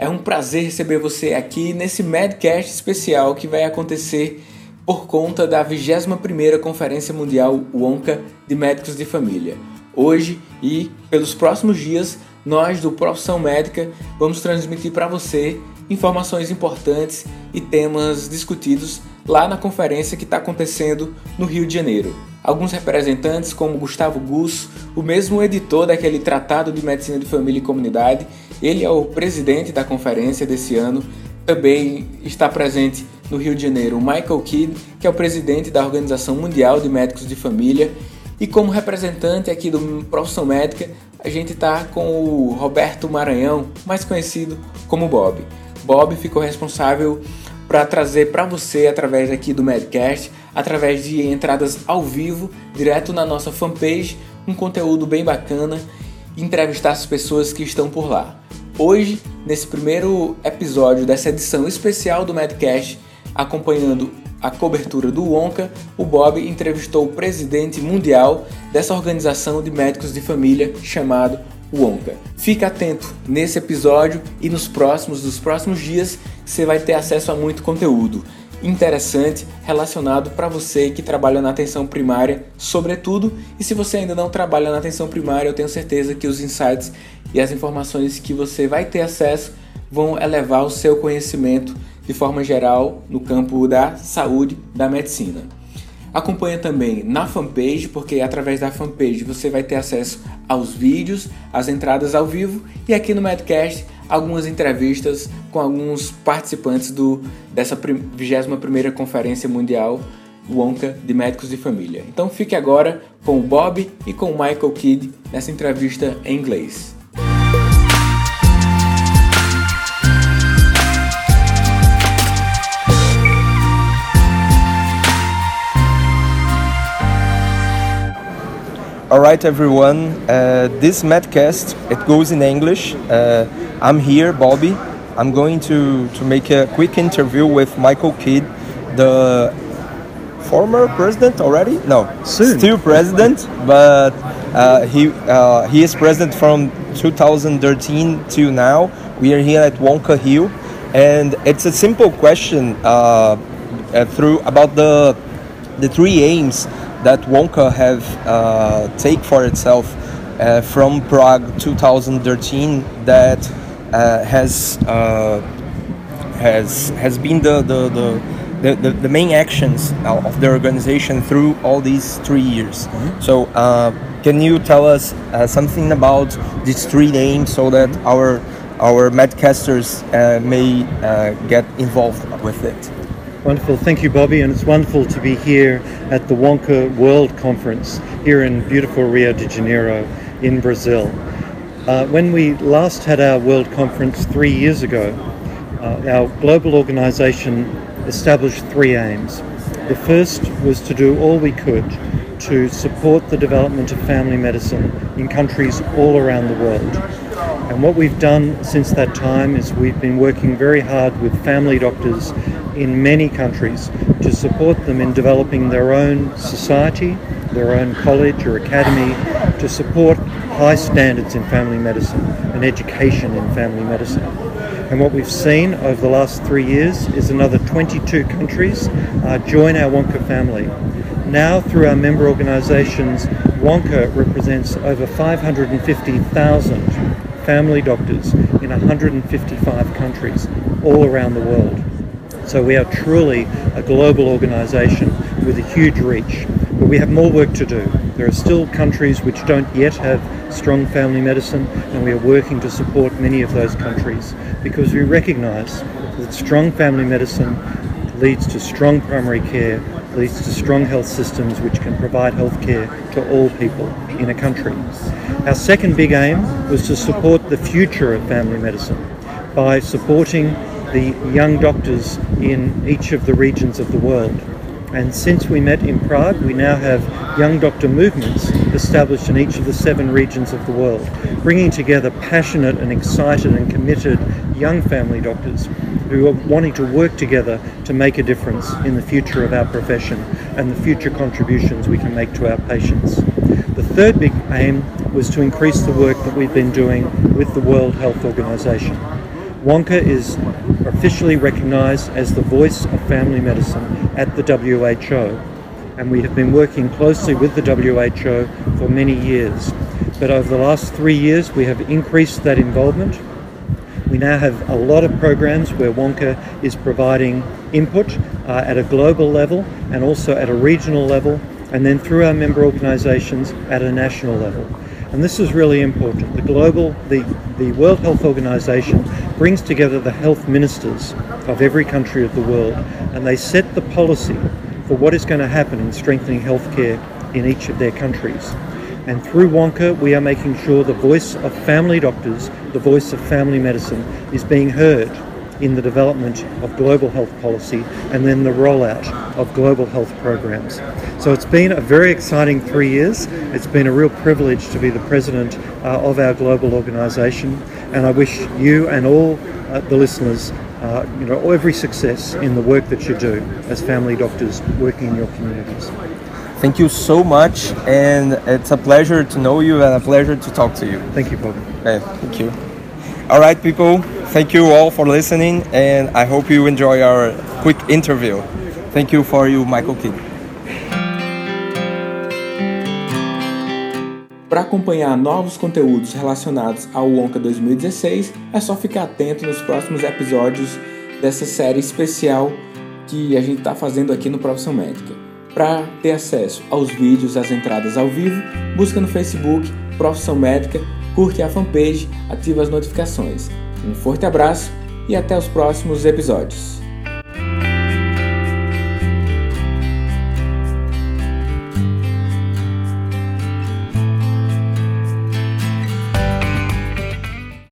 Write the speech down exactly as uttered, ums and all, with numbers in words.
É um prazer receber você aqui nesse Medcast especial que vai acontecer por conta da vigésima primeira Conferência Mundial ONCA de Médicos de Família. Hoje e pelos próximos dias, nós do Profissão Médica vamos transmitir para você informações importantes e temas discutidos lá na conferência que está acontecendo no Rio de Janeiro. Alguns representantes, como Gustavo Gusso, o mesmo editor daquele Tratado de Medicina de Família e Comunidade, ele é o presidente da conferência desse ano. Também está presente no Rio de Janeiro o Michael Kidd, que é o presidente da Organização Mundial de Médicos de Família. E como representante aqui do Profissão Médica, a gente está com o Roberto Maranhão, mais conhecido como Bob. Bob ficou responsável para trazer para você, através aqui do Medcast, através de entradas ao vivo, direto na nossa fanpage, um conteúdo bem bacana, entrevistar as pessoas que estão por lá. Hoje, nesse primeiro episódio dessa edição especial do Medcast, acompanhando a cobertura do ONCA, o Bob entrevistou o presidente mundial dessa organização de médicos de família chamado ONCA. Fica atento nesse episódio e nos próximos, dos próximos dias, você vai ter acesso a muito conteúdo interessante relacionado para você que trabalha na atenção primária, sobretudo. E se você ainda não trabalha na atenção primária, eu tenho certeza que os insights e as informações que você vai ter acesso vão elevar o seu conhecimento de forma geral no campo da saúde, da medicina. Acompanha também na fanpage, porque através da fanpage você vai ter acesso aos vídeos, às entradas ao vivo e aqui no Medcast algumas entrevistas com alguns participantes do, dessa vigésima primeira Conferência Mundial ONCA de Médicos de Família. Então fique agora com o Bob e com o Michael Kidd nessa entrevista em inglês. All right, everyone. Uh, this Medcast, it goes in English. Uh, I'm here, Bobby. I'm going to, to make a quick interview with Michael Kidd, the former president already? No, soon. Still president, but uh, he uh, he is president from two thousand thirteen till now. We are here at ONCA Rio, and it's a simple question uh, uh, through about the the three aims that ONCA have uh, take for itself uh, from Prague two thousand thirteen that uh, has uh, has has been the the, the, the the main actions of the organization through all these three years. Mm-hmm. So uh, can you tell us uh, something about these three aims so that our our Medcasters uh, may uh, get involved with it? Wonderful, thank you, Bobby, and it's wonderful to be here at the ONCA World Conference here in beautiful Rio de Janeiro in Brazil. Uh, when we last had our World Conference three years ago, uh, our global organisation established three aims. The first was to do all we could to support the development of family medicine in countries all around the world. And what we've done since that time is we've been working very hard with family doctors in many countries to support them in developing their own society, their own college or academy, to support high standards in family medicine and education in family medicine. And what we've seen over the last three years is another twenty-two countries uh, join our ONCA family. Now, through our member organisations, ONCA represents over five hundred fifty thousand family doctors in one hundred fifty-five countries all around the world. So we are truly a global organisation with a huge reach, but we have more work to do. There are still countries which don't yet have strong family medicine, and we are working to support many of those countries because we recognise that strong family medicine leads to strong primary care, leads to strong health systems which can provide health care to all people in a country. Our second big aim was to support the future of family medicine by supporting the young doctors in each of the regions of the world. And since we met in Prague, we now have young doctor movements established in each of the seven regions of the world, bringing together passionate and excited and committed young family doctors who are wanting to work together to make a difference in the future of our profession and the future contributions we can make to our patients. The third big aim was to increase the work that we've been doing with the World Health Organization. Wonka is officially recognised as the voice of family medicine at the W H O, and we have been working closely with the W H O for many years. But over the last three years we have increased that involvement. We now have a lot of programs where Wonka is providing input uh, at a global level and also at a regional level, and then through our member organisations at a national level. And this is really important. The global, the, the World Health Organization brings together the health ministers of every country of the world, and they set the policy for what is going to happen in strengthening healthcare in each of their countries. And through Wonka, we are making sure the voice of family doctors, the voice of family medicine, is being heard in the development of global health policy and then the rollout of global health programs. So it's been a very exciting three years. It's been a real privilege to be the president uh, of our global organisation, and I wish you and all uh, the listeners uh, you know, every success in the work that you do as family doctors working in your communities. Thank you so much, and it's a pleasure to know you and a pleasure to talk to you. Thank you, Bob. Yeah, thank you. All right, people, thank you all for listening, and I hope you enjoy our quick interview. Thank you for you, Michael King. Para acompanhar novos conteúdos relacionados ao Wonka dois mil e dezesseis, é só ficar atento nos próximos episódios dessa série especial que a gente está fazendo aqui no Profissão Médica. Para ter acesso aos vídeos, às entradas ao vivo, busca no Facebook Profissão Médica, curte a fanpage, ativa as notificações. Um forte abraço e até os próximos episódios.